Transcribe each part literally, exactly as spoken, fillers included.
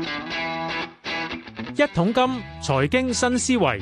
一桶金財經新思維。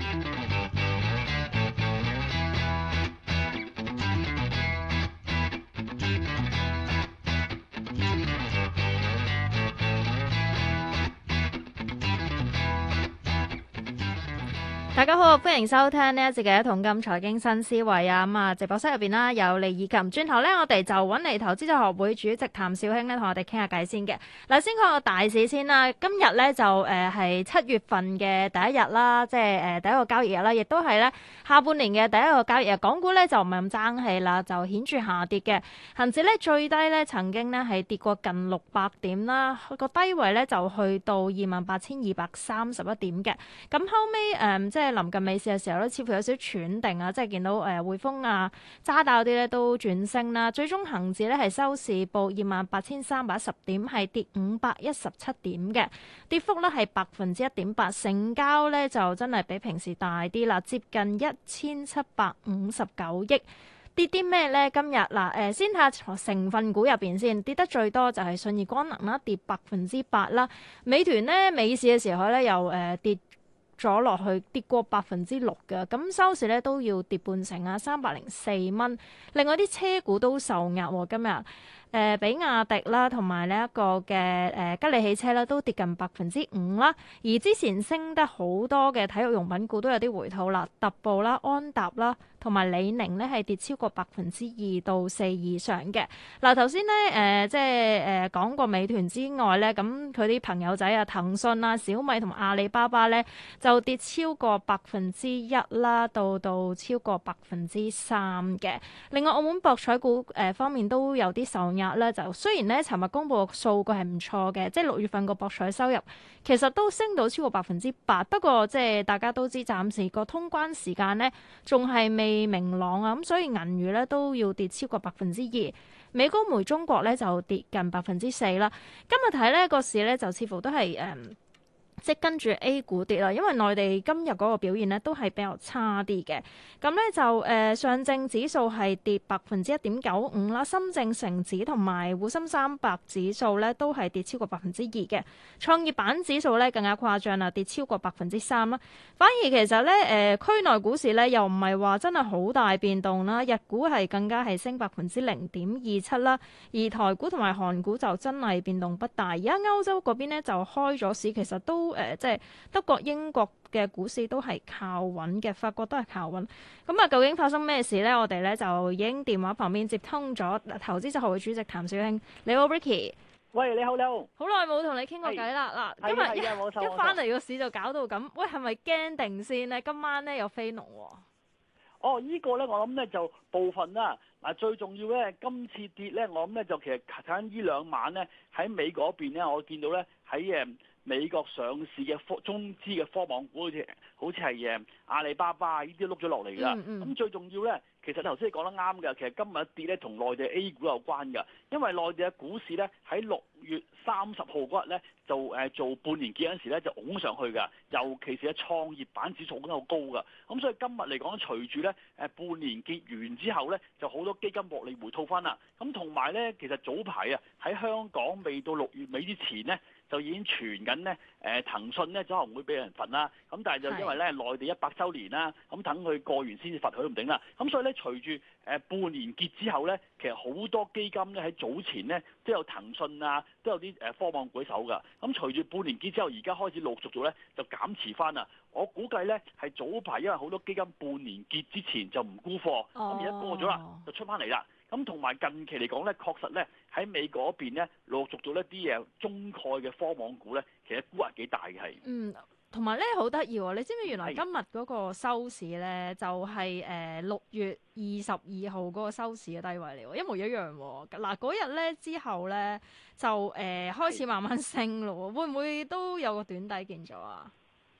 大家好，歡迎收聽呢一節嘅一桶金財經新思維啊！咁啊，直播室入邊啦有李以琴，轉頭咧我哋就揾嚟投資者學會主席譚紹興咧同我哋傾下偈先嘅。嗱，先講個大市先啦。今日咧就誒係七月份嘅第一日啦，即係誒第一個交易日啦，亦都係咧下半年嘅第一個交易日。港股咧就唔係咁爭氣啦，就顯著下跌嘅。恒指咧最低咧曾經咧係跌過近六百點啦，個低位咧就去到二萬八千二百三十一點嘅。咁後尾誒、嗯、即係臨近尾市嘅時候咧，似乎有少少喘定啊，即係見到誒、呃、匯豐啊、渣打嗰啲咧都轉升啦。最終恒指咧係收市報二萬八千三百一十點，係跌五百一十七點嘅，跌幅咧係百分之一點八。成交咧就真係比平時大啲啦，接近一千七百五十九億。跌啲咩咧？今日嗱誒，先睇下成分股入邊先，跌得最多就係信義光能啦，跌百分之八啦。美團咧尾市嘅時候咧又誒、呃、跌咗落去，跌過百分之六嘅，咁收市咧都要跌半成啊，三百零四蚊。另外啲車股都受壓喎，今日誒、呃、比亞迪啦，同埋呢一個嘅誒、呃、吉利汽車啦，都跌近百分之五啦。而之前升得好多嘅體育用品股都有啲回吐啦，特步啦、安踏啦，同埋李寧咧係跌超過百分之二到四以上嘅。嗱，頭先咧誒即係誒講過美團之外咧，咁佢啲朋友仔啊，騰訊啊、小米同埋阿里巴巴咧就跌超過百分之一啦，到到超過百分之三嘅。另外澳門博彩股誒方面都有啲受壓咧，就雖然咧尋日公布嘅數據係唔錯嘅，即係六月份個博彩收入其實都升到超過百分之八，不過即係大家都知暫時個通關時間咧仲係未明朗啊，咁所以銀娛咧都要跌超過百分之二，美高梅中國咧就跌近百分之四啦。今日睇咧個市咧就似乎都係誒。嗯即係跟住 A 股跌啦，因為內地今日嗰個表現咧都係比較差啲嘅。咁咧就誒、呃、上證指數係跌百分之一點九五啦，深證成指同埋滬深三百指數咧都係跌超過百分之二嘅。創業板指數咧更加誇張啦，跌超過百分之三啦。反而其實咧誒、呃、區內股市咧又唔係話真係好大變動啦，日股係更加係升百分之零點二七啦，而台股同埋韓股就真係變動不大。而家歐洲嗰邊咧就開咗市，其實都誒、呃、即係德國、英國嘅股市都係靠穩嘅，法國都係靠穩。咁啊，究竟發生咩事咧？我哋咧就已經電話旁邊接通咗投資者學會主席譚紹興。你好，Ricky。 喂，你好，你好。 好耐冇同你傾過偈啦。嗱，今日一一翻嚟個市就搞到咁，喂，係咪驚定先咧？今晚咧有飛龍喎。 哦，依、這個咧，我諗咧就部分啦。嗱，最重要咧，今次跌咧，我諗咧就其實睇緊呢兩晚咧喺美國嗰邊咧，我見到咧喺誒美國上市嘅科中資嘅科網股好似好似係誒阿里巴巴呢啲碌咗落嚟㗎。咁、嗯嗯、最重要咧，其實頭先你講得啱㗎。其實今日一跌咧同內地 A 股有關㗎，因為內地嘅股市咧喺六月三十號嗰日咧就誒做半年結嗰陣時咧就拱上去㗎，尤其是喺創業板指數都好高㗎。咁所以今日嚟講，隨住咧誒半年結完之後咧，就好多基金獲利回吐翻啦。咁同埋咧，其實早排啊喺香港未到六月尾之前咧，就已經傳緊咧誒騰訊咧可能會俾人罰啦。咁但係就因為咧內地一百週年啦，咁等佢過完先至罰佢都唔定啦。咁所以咧隨住誒半年結之後咧，其實好多基金咧喺早前咧都有騰訊啊，都有啲誒科網股手㗎。咁隨住半年結之後，而家開始陸續做咧就減持翻啦。我估計咧係早排因為好多基金半年結之前就唔沽貨，咁而家過咗啦就出翻嚟啦。咁同埋近期嚟講咧，確實咧喺美國嗰邊咧陸續做一啲嘢中概嘅科網股咧，其實估係幾大嘅係。 嗯，同埋咧好得意喎！你知唔知原來今日嗰個收市咧就係誒六月二十二號嗰個收市嘅低位嚟喎，一模一樣喎。嗱嗰日咧之後咧就誒、呃、開始慢慢升咯，會唔會都有個短底見咗啊？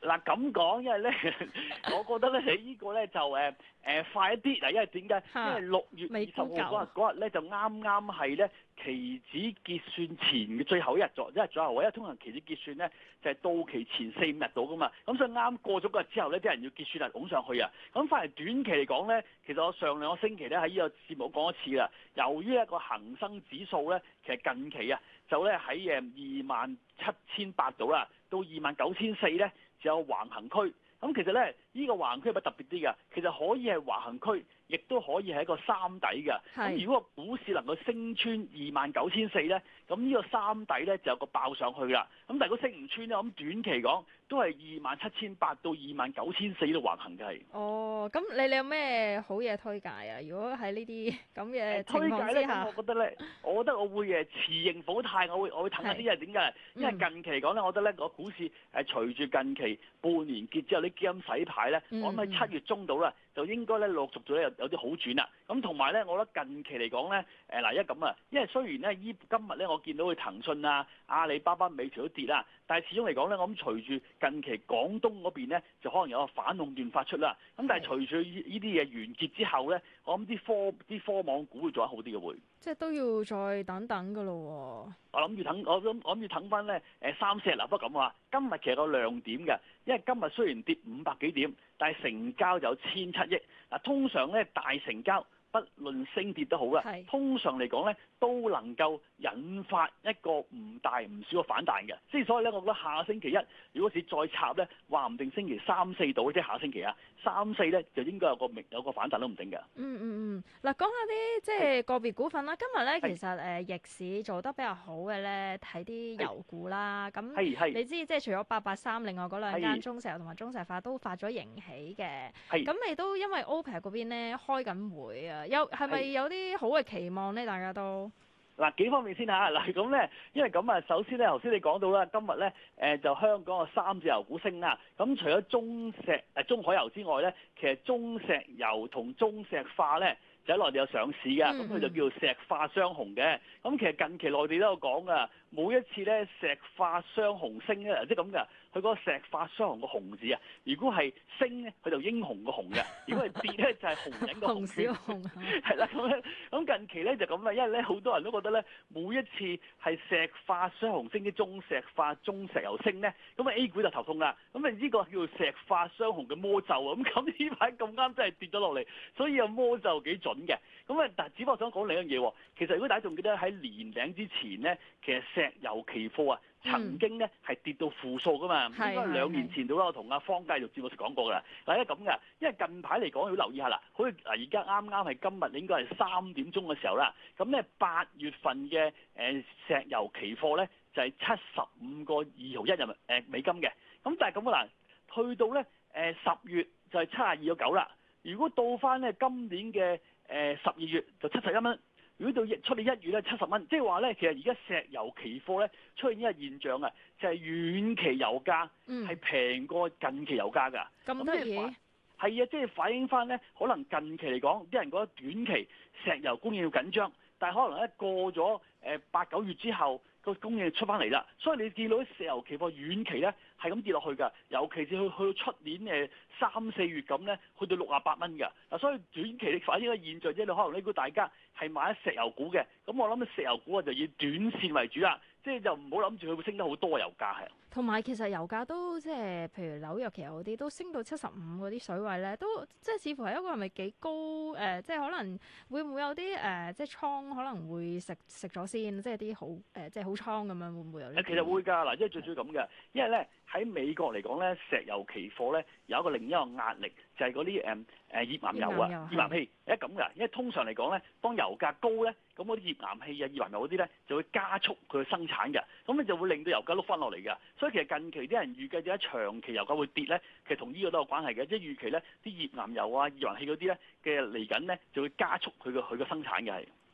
嗱咁講，因為咧，我覺得咧，你呢個咧就誒誒、呃、快一啲嗱，因為點解？因為六月二十號嗰日嗰日咧就啱啱係咧期指結算前嘅最後一日左一日左右，因為通常期指結算咧就係、是、到期前四五日到噶嘛，咁所以啱過咗嗰日之後咧，啲人要結算啊，拱上去啊，咁反而短期嚟講咧，其實我上兩個星期咧喺呢個節目講一次啦，由於一個恒生指數咧，其實近期啊就咧喺誒二萬七千八度啦，到二萬九千四咧。就有橫行區，咁其實咧，呢、這個橫行區係咪特別啲嘅？其實可以係橫行區，亦都可以係一個三底嘅。咁如果個股市能夠升穿二萬九千四咧，咁呢個三底咧就有個爆上去啦。咁但係如果升唔穿咧，咁短期講都係二萬七千八到二萬九千四度橫行嘅係。 哦，咁你你有咩好嘢推介啊？如果喺呢啲咁嘅情況之下， 推介咧，我覺得咧，我覺得我會誒持盈保泰，我會我會睇下啲嘢點解？因為近期嚟講咧，我覺得咧個股市誒隨住近期半年結之後啲基金洗牌咧，嗯、我諗喺七月中到啦，就應該咧陸續咗咧有有啲好轉啦。咁同埋咧，我覺得近期嚟講咧，誒嗱一咁啊，因為雖然咧依今日咧我見到佢騰訊啊、阿里巴巴、美團都跌啦，但係始終嚟講咧，我諗隨住近期廣東嗰邊咧就可能有個反壟斷發出啦。咁但係隨住呢啲嘢完結之後咧，我諗啲科啲科網股會做得好啲嘅會。 即係都要再等等㗎咯喎。 我諗住等，我諗我諗住等翻咧誒三四日嗱，不過咁話，今日其實個亮點嘅，因為今日雖然跌五百幾點，但係成交就有千七億。嗱，通常咧大成交，不論升跌都好啦，通常嚟講咧都能夠引發一個唔大唔少嘅反彈嘅。即係所以咧，我覺得下星期一如果是再插咧，話唔定星期三四到，即係下星期啊，三四咧就應該有個明有個反彈都唔定嘅。 嗯嗯嗯，嗱講下啲即係個別股份啦。今日咧其實誒逆市做得比較好嘅咧，睇啲油股啦。咁你知即係除咗八八三，另外嗰兩間中石油同埋中石化都發咗盈喜嘅。咁你都因為 OPEC 嗰邊咧開緊會啊。有係咪有啲好嘅期望咧？大家都嗱幾方面先嚇嗱咁咧，因為咁啊，首先咧，頭先你講到啦，今日咧誒就香港嘅三隻油股升啦。咁除咗中石誒中海油之外咧，其實中石油同中石化咧就喺內地有上市嘅，咁佢、嗯、就叫做石化雙雄嘅。咁其實近期內地都有講噶，每一次咧石化雙雄升咧，即係咁嘅。佢嗰個石化雙雄個雄字啊，如果係升咧，佢就英雄個雄嘅；如果係跌咧，就係紅人個紅。紅小紅係啦，咁咧，咁近期咧就咁啦，因為咧好多人都覺得咧，每一次係石化雙雄升啲中石化、中石油升咧，咁啊 A 股就頭痛啦。咁啊呢個叫做石化雙雄嘅魔咒啊！咁咁呢排咁啱真係跌咗落嚟，所以有魔咒幾準嘅。咁啊，但係只不過想講另一樣嘢，其實如果大家仲記得喺年頂之前咧，其實石油期貨啊。曾經咧係跌到負數噶嘛，應該兩年前到啦，我同阿方繼續節目時講過噶啦。嗱，因為咁嘅，因為近排嚟講要留意下啦，好似嗱而家啱啱係今日應該係三點鐘嘅時候啦。咁咧八月份嘅誒石油期貨咧就係七十五個二毫一人民誒美金嘅。咁但係咁啊嗱，去到咧誒十月就係七十二個九啦。如果到翻咧今年嘅誒十二月就七十一蚊。如果到出年一月咧七十蚊，即係話咧，其實而家石油期貨咧出現一個現象啊，就係、是、遠期油價係平過近期油價㗎。 咁得意？係啊， 即係反映翻咧，可能近期嚟講，啲人覺得短期石油供應要緊張，但係可能咧過咗誒八九月之後，個供應出翻嚟啦。所以你見到啲石油期貨遠期咧係咁跌落去㗎，尤其是去去到出年誒三四月咁咧，去到六啊八蚊㗎。嗱，所以短期你反映個現象，即係可能呢個大家係買石油股嘅，咁我諗石油股啊就以短線為主啦，即係就唔好諗住佢會升得好多油價係。 同埋其實油價都即係譬如紐約期油嗰啲都升到七十五嗰啲水位咧，都即係似乎係一個係咪幾高誒、呃？即係可能會唔會有啲誒、呃、即係倉可能會食食咗先，即係啲好誒、呃、即係好倉咁樣會唔會有呢？ 其實會㗎嗱，因為最主要咁嘅，因為咧喺美國嚟講咧，石油期貨咧有一個另一個壓力，就係嗰啲誒誒頁岩油啊、頁岩氣，係咁㗎。因為通常嚟講咧，當油價高咧，咁嗰啲頁岩氣啊、頁岩油嗰啲咧就會加速佢嘅生產嘅，咁你就會令到油價碌翻落嚟㗎。所以其實近期啲人預計點解長期油價會跌咧，其實同呢個都有關係嘅，即係預期咧啲頁岩油啊、頁岩氣嗰啲咧嘅嚟緊咧就會加速佢嘅佢嘅生產嘅係。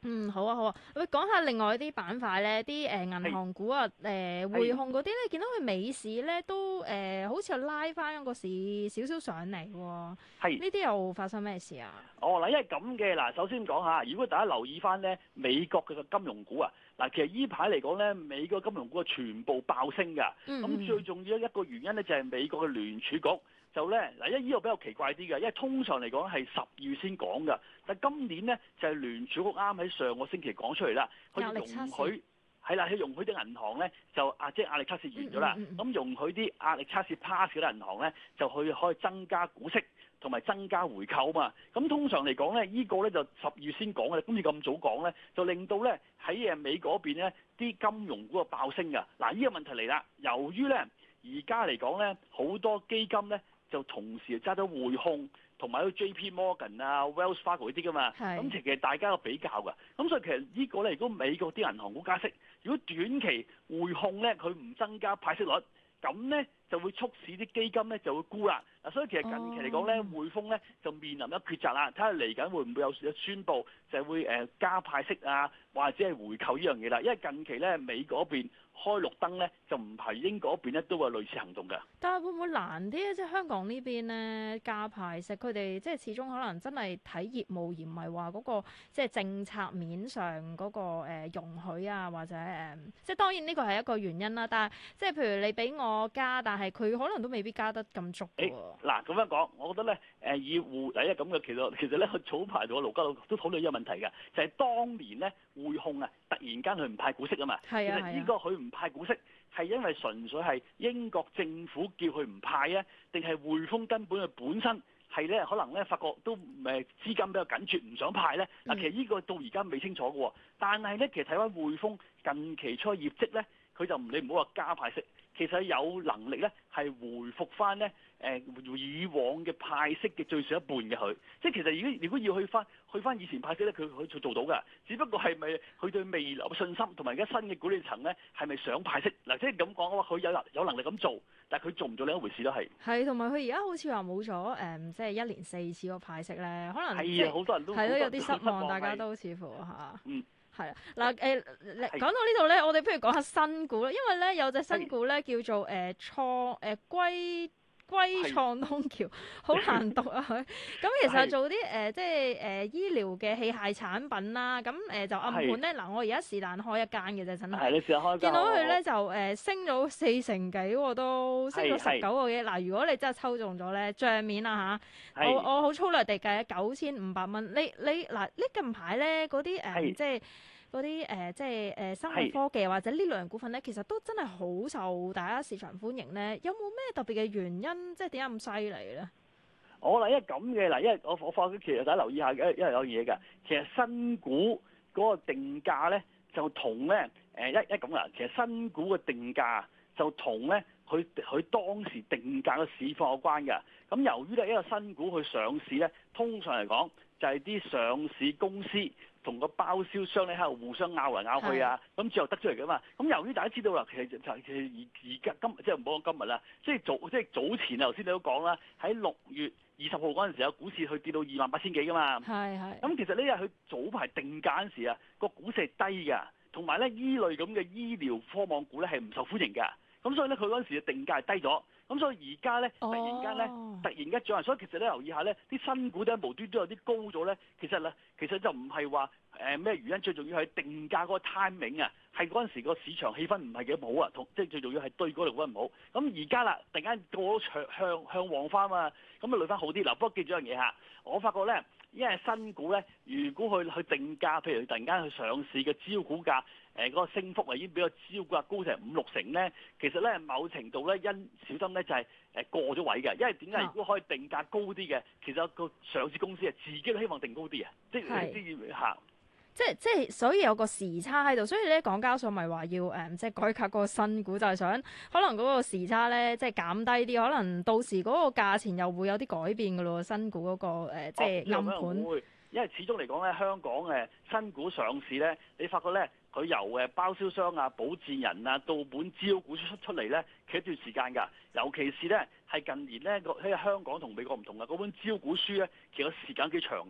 嗯，好啊，好啊。喂，講下另外啲板塊咧，啲誒銀行股啊，誒、呃、匯控嗰啲咧，見到佢美市咧都誒、呃、好似有拉翻個市少少上嚟喎。係。呢啲又發生咩事啊？ 哦，嗱，因為咁嘅嗱，首先講下，如果大家留意翻咧美國嘅金融股啊，嗱，其實依排嚟講咧，美國金融股係全部爆升㗎。咁、嗯、最重要一個原因咧就係美國嘅聯儲局。就咧嗱，因為呢個比較奇怪啲嘅，因為通常嚟講係十二月先講嘅，但係今年咧就係聯儲局啱喺上個星期講出嚟啦，佢容許係啦，佢容許啲銀行咧就啊，即係壓力測試完咗啦，咁、嗯嗯、容許啲壓力測試 pass 嗰啲銀行咧就去可以增加股息同埋增加回購嘛。咁通常嚟講咧，呢、呢個咧就十二月先講嘅，今次咁早講咧，就令到咧喺誒美國嗰邊咧啲金融股啊爆升㗎。嗱，呢個問題嚟啦，由於咧而家嚟講咧好多基金咧。就同時揸咗匯控同埋嗰 J P Morgan 啊、Wells Fargo 嗰啲噶嘛，咁其實大家有比較㗎，咁所以其實呢個咧，如果美國啲銀行股加息，如果短期匯控咧佢唔增加派息率，咁咧就會促使啲基金咧就會沽啦。嗱，所以其實近期嚟講咧，匯豐咧就面臨一抉擇啦，睇下嚟緊會唔會有宣佈就係會誒加派息啊，或者係回購呢樣嘢啦。因為近期咧美國嗰邊開綠燈咧，就唔係英國嗰邊咧都會有類似行動㗎。 但係會唔會難啲咧？即係香港呢邊咧加派息，佢哋即係始終可能真係睇業務，而唔係話嗰個即係政策面上嗰、嗰個、呃、容許啊，或者誒、呃，即係當然呢個係一個原因啦。但係即係譬如你俾我加，但係佢可能都未必加得咁足㗎喎。 嗱，咁樣講，我覺得咧誒以匯第一咁嘅，其實其實咧早排同我盧家樂都討論呢個問題嘅，就係、係、當年咧匯控啊突然間佢唔派股息啊嘛。係啊係啊。其實呢個佢唔派股息係因為純粹係英國政府叫佢唔派啊，定係匯豐根本佢本身係咧可能咧發覺都誒資金比較緊絀，唔想派咧。嗱、嗯，其實呢個到而家未清楚嘅喎。但係咧，其實睇翻匯豐近期出嘅業績咧，佢就唔你唔好話加派息，其實有能力咧係回復翻咧誒以往嘅派息嘅最少一半嘅佢。即係其實如果如果要去翻去翻以前派息咧，佢佢做到㗎。只不過係咪佢對未來嘅信心同埋而家新嘅管理層咧係咪想派息？嗱，即係咁講嘅話，佢有能有能力咁做，但係佢做唔做另一回事都係。係， 同埋佢而家好似話冇咗誒，即係一年四次個派息咧，可能係啊，好多人都係咯，有啲失望，大家都似乎嚇。 嗯。 係啊，嗱誒，講到呢度咧，我哋不如講下新股啦，因為咧有隻新股咧叫做誒創誒歸歸創東橋，好難讀啊佢。咁其實做啲誒、呃、即係誒、呃、醫療嘅器械產品啦，咁誒、呃、就暗盤咧，嗱我而家是但開一間嘅啫，真係。係你試下開間。見到佢咧就誒、呃、升咗四成幾喎，都升咗十九個幾。嗱，如果你真係抽中咗咧，帳面啊嚇，我我好粗略地計九千五百蚊。你你嗱呢近排咧嗰啲誒即係。嗰啲誒即係誒、呃、生物科技或者呢類型股份咧，其實都真係好受大家市場歡迎咧。有冇咩特別嘅原因？即係點解咁犀利咧？ 我嗱，因為咁嘅嗱，因為我我發覺其實大家留意下嘅，因為有嘢㗎。其實新股嗰個定價咧，就同咧誒一一咁啦。其實新股嘅定價就同咧佢佢當時定價嘅市況有關㗎。咁由於咧一個新股去上市咧，通常嚟講就係啲上市公司同個包銷商咧喺度互相拗嚟拗去啊，咁最後得出嚟㗎嘛。咁由於大家知道啦，其實就其實而而家今即係唔好講今日啦，即係早即係早前啊，頭先你都講啦，喺六月二十號嗰陣時有股市去跌到二萬八千幾㗎嘛。係係。咁其實呢日佢早排定價嗰陣時啊，個股市係低㗎，同埋咧依類咁嘅醫療科網股咧係唔受歡迎㗎。咁所以咧佢嗰陣時嘅定價係低咗。咁所以而家咧，突然間咧，突然間漲，所以其實咧留意下咧，啲新股咧無端都有啲高咗咧。其實咧，其實就唔係話誒咩原因，最重要係定價嗰個 timing 啊，係嗰陣時個市場氣氛唔係幾好啊，同即係最重要係對嗰度嗰唔好。咁而家啦，突然間過咗向向向旺翻嘛，咁啊累翻好啲。嗱，不過記住一樣嘢嚇，我發覺咧，因為新股咧，如果佢去定價，譬如突然間去上市嘅招股價。誒、呃、嗰、那個升幅啊，已經比個招股價高成五六成咧。其實咧，某程度咧，因小心咧就係、是、誒過咗位嘅。因為點解？如果可以定價高啲嘅，其實個上市公司啊，自己都希望定高啲啊。即係啲客， 即係即係，所以有個時差喺度。所以咧，港交所咪話要誒、嗯，即係改革嗰個新股，就係、是、想可能嗰個時差咧，即係減低啲。可能到時嗰個價錢又會有啲改變㗎咯。新股嗰、那個、呃、即係暗盤。 會，因為始終嚟講咧，香港誒新股上市咧，你發覺咧。佢由誒包銷商啊、保薦人啊到本招股出出嚟咧，企一段時間㗎。尤其是咧係近年咧，喺香港同美國唔同嘅嗰本招股書咧，其實時間幾長嘅係。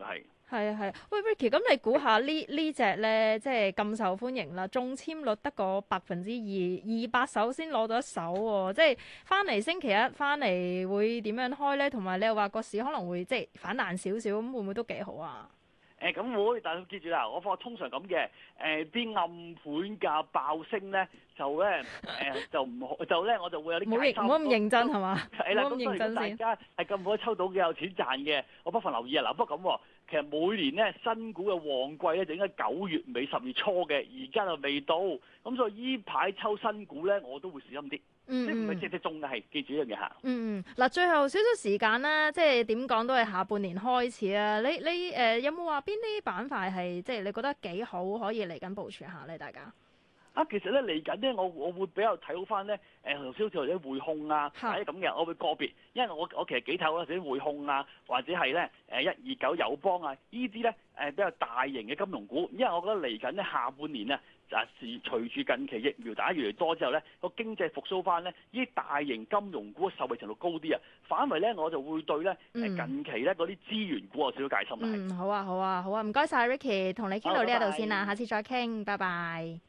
係啊係啊，喂 Ricky，咁你估下呢呢只咧，即係咁受歡迎啦，中籤率得個百分之二，二百手先攞到一手喎，即係翻嚟星期一翻嚟會點樣開咧？同埋你又話個市可能會即係反彈少少，咁會唔會都幾好啊？ 誒咁會，但係記住啦，我發覺通常咁嘅，誒啲暗盤價爆升咧，就咧誒就唔好，就咧我就會有啲唔好認唔好咁認真係嘛？ 係啦， 唔好咁咁所以如果大認真先。 家係咁可以抽到嘅有錢賺嘅，我不妨留意啊！嗱，不過咁喎，其實每年咧新股嘅旺季咧就應該九月尾十月初嘅，而家就未到，咁所以依排抽新股咧我都會小心啲。 嗯即係唔係嗯隻隻中嘅，係記住一樣嘢嚇。 嗯嗯，嗱，最後少少時間啦，即係點講都係下半年開始啊！你你誒、呃、有冇話邊啲板塊係即係你覺得幾好，可以嚟緊部署下咧？大家啊，其實咧嚟緊咧，我我會比較睇好翻咧，誒頭先好似或者匯控啊， 嚇或者咁嘅，我會個別，因為我我其實幾睇好嗰啲匯控啊，或者係咧誒一二九友邦啊，呢啲咧誒比較大型嘅金融股，因為我覺得嚟緊咧下半年啊。就係隨住近期疫苗打越嚟越多之後咧，個經濟復甦翻咧，呢啲大型金融股嘅受惠程度高啲啊，反為咧我就會對咧誒、 嗯、 近期咧嗰啲資源股有少少戒心啦。 嗯，好啊好啊好啊，唔該晒 Ricky，同你傾到呢一度先啦， 好，拜拜。 下次再傾，拜拜。